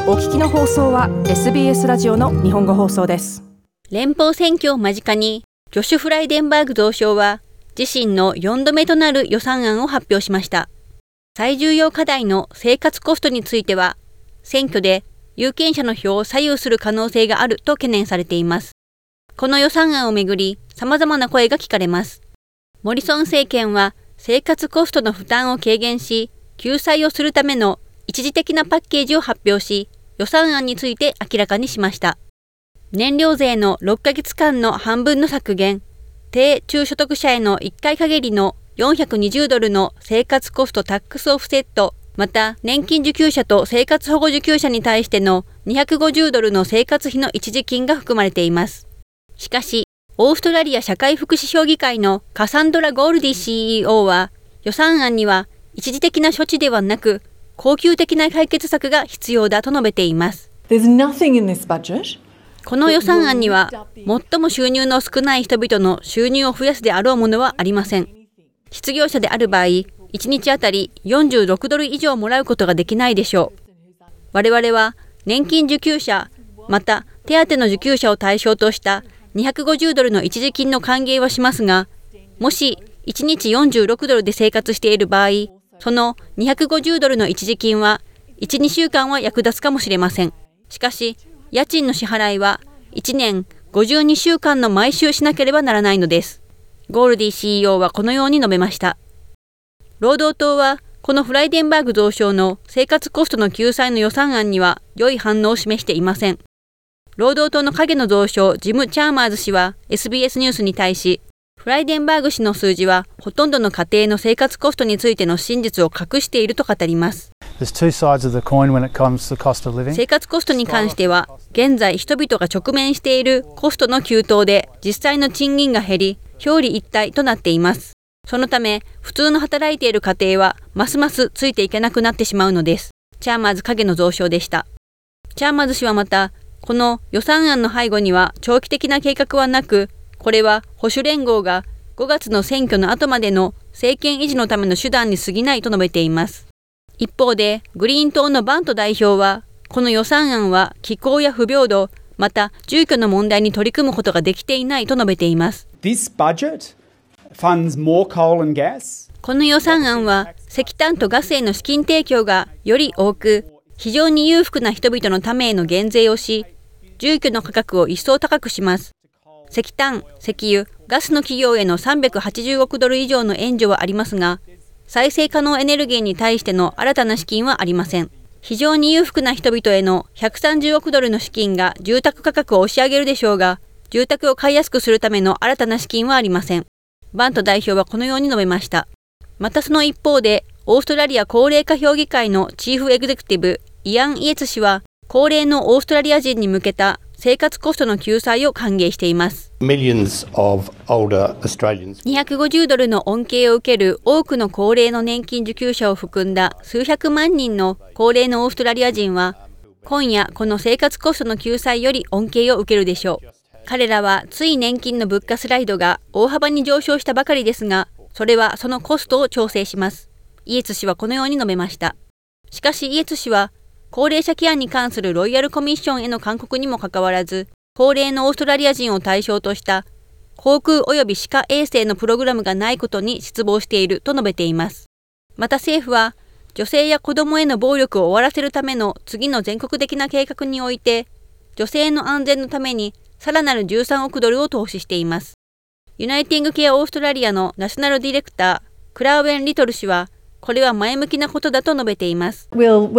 お聞きの放送は SBS ラジオの日本語放送です。 連邦選挙を間近に、ジョシュ・フライデンバーグ増相は自身の4度目となる予算案を発表しました。最重要課題の生活コストについては、選挙で有権者の票を左右する可能性があると懸念されています。この予算案をめぐり、様々な声が聞かれます。モリソン政権は生活コストの負担を軽減し、救済をするための一時的なパッケージを発表し、予算案について明らかにしました。燃料税の6ヶ月間の半分の削減、低中所得者への1回限りの$420の生活コストタックスオフセット、また年金受給者と生活保護受給者に対しての$250の生活費の一時金が含まれています。しかし、オーストラリア社会福祉評議会のカサンドラ・ゴールディ CEO は、予算案には一時的な処置ではなく、恒久的な解決策が必要だと述べています。この予算案には、最も収入の少ない人々の収入を増やすであろうものはありません。失業者である場合、1日あたり$46以上もらうことができないでしょう。我々は年金受給者、また手当の受給者を対象とした$250の一時金の歓迎はしますが、もし1日$46で生活している場合、その$250の一時金は1、2週間は役立つかもしれません。しかし、家賃の支払いは1年52週間の毎週しなければならないのです。ゴールディ CEO はこのように述べました。労働党は、このフライデンバーグ増相の生活コストの救済の予算案には良い反応を示していません。労働党の影の増相ジム・チャーマーズ氏は SBS ニュースに対し、フライデンバーグ氏の数字はほとんどの家庭の生活コストについての真実を隠していると語ります。生活コストに関しては、現在人々が直面しているコストの急騰で実際の賃金が減り、表裏一体となっています。そのため、普通の働いている家庭はますますついていけなくなってしまうのです。チャーマーズ影の増相でした。チャーマーズ氏はまた、この予算案の背後には長期的な計画はなく、これは保守連合が5月の選挙の後までの政権維持のための手段に過ぎないと述べています。一方で、グリーン党のバント代表は、この予算案は気候や不平等、また住居の問題に取り組むことができていないと述べています。この予算案は石炭とガスへの資金提供がより多く、非常に裕福な人々のためへの減税をし、住居の価格を一層高くします。石炭、石油、ガスの企業への$380億以上の援助はありますが、再生可能エネルギーに対しての新たな資金はありません。非常に裕福な人々への$130億の資金が住宅価格を押し上げるでしょうが、住宅を買いやすくするための新たな資金はありません。バント代表はこのように述べました。またその一方で、オーストラリア高齢化評議会のチーフエグゼクティブ、イアン・イエツ氏は、高齢のオーストラリア人に向けた生活コストの救済を歓迎しています。$250の恩恵を受ける多くの高齢の年金受給者を含んだ数百万人の高齢のオーストラリア人は、今夜この生活コストの救済より恩恵を受けるでしょう。彼らはつい年金の物価スライドが大幅に上昇したばかりですが、それはそのコストを調整します。イエツ氏はこのように述べました。しかしイエツ氏は、高齢者ケアに関するロイヤルコミッションへの勧告にもかかわらず、高齢のオーストラリア人を対象とした航空及び歯科衛生のプログラムがないことに失望していると述べています。また政府は、女性や子供への暴力を終わらせるための次の全国的な計画において、女性の安全のためにさらなる$13億を投資しています。ユナイティングケアオーストラリアのナショナルディレクター、クラーウェン・リトル氏は、これは前向きなことだと述べています。我々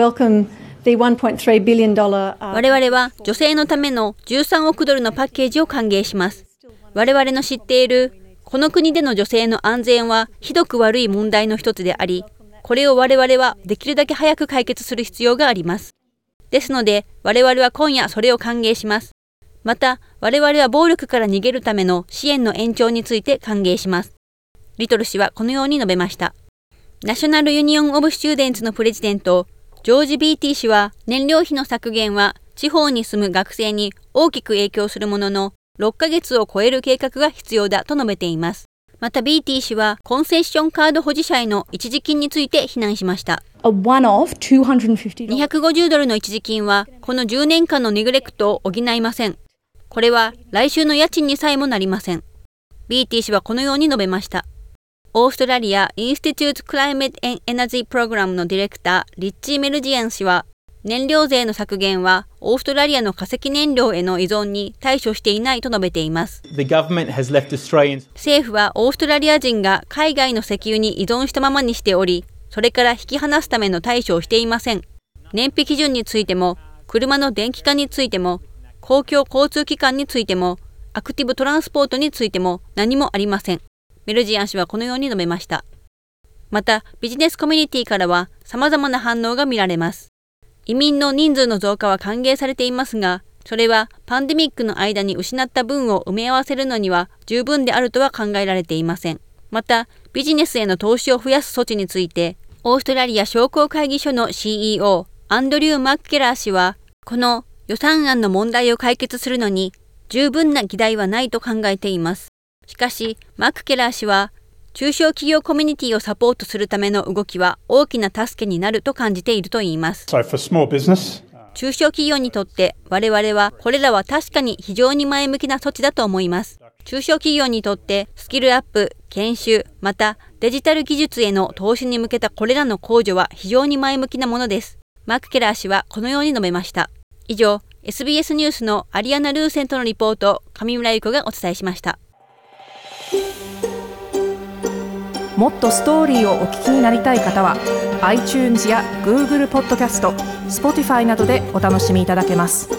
は女性のための$13億のパッケージを歓迎します。我々の知っているこの国での女性の安全はひどく悪い問題の一つであり、これを我々はできるだけ早く解決する必要があります。ですので我々は今夜それを歓迎します。また我々は暴力から逃げるための支援の延長について歓迎します。リトル氏はこのように述べました。ナショナルユニオン・オブ・スチューデンツのプレジデント、ジョージ・ビーティ氏は、燃料費の削減は地方に住む学生に大きく影響するものの、6ヶ月を超える計画が必要だと述べています。 また BT 氏はコンセッションカード保持者への一時金について非難しました。$250の一時金はこの10年間のネグレクトを補いません。これは来週の家賃にさえもなりません。BT 氏はこのように述べました。オーストラリア・インスティテュート・クライメット・エナジー・プログラムのディレクター、リッチー・メルジアン氏は、燃料税の削減はオーストラリアの化石燃料への依存に対処していないと述べています。政府はオーストラリア人が海外の石油に依存したままにしており、それから引き離すための対処をしていません。燃費基準についても、車の電気化についても、公共交通機関についても、アクティブトランスポートについても何もありません。メルジアン氏はこのように述べました。また、ビジネスコミュニティからは様々な反応が見られます。移民の人数の増加は歓迎されていますが、それはパンデミックの間に失った分を埋め合わせるのには十分であるとは考えられていません。また、ビジネスへの投資を増やす措置について、オーストラリア商工会議所の CEO、アンドリュー・マッケラー氏は、この予算案の問題を解決するのに十分な議題はないと考えています。しかし、マッケラー氏は、中小企業コミュニティをサポートするための動きは大きな助けになると感じているといいます。中小企業にとって我々はこれらは確かに非常に前向きな措置だと思います。中小企業にとってスキルアップ、研修、またデジタル技術への投資に向けたこれらの控除は非常に前向きなものです。マッケラー氏はこのように述べました。以上、SBS ニュースのアリアナ・ルーセントのリポートを上村ゆ子がお伝えしました。 もっとストーリーをお聞きになりたい方は iTunes や Google ポッドキャスト、Spotify などでお楽しみいただけます。